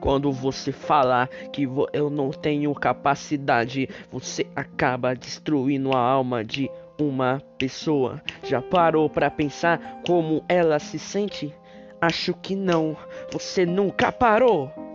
Quando você falar que eu não tenho capacidade, você acaba destruindo a alma de uma pessoa. Já parou pra pensar como ela se sente? Acho que não. Você nunca parou.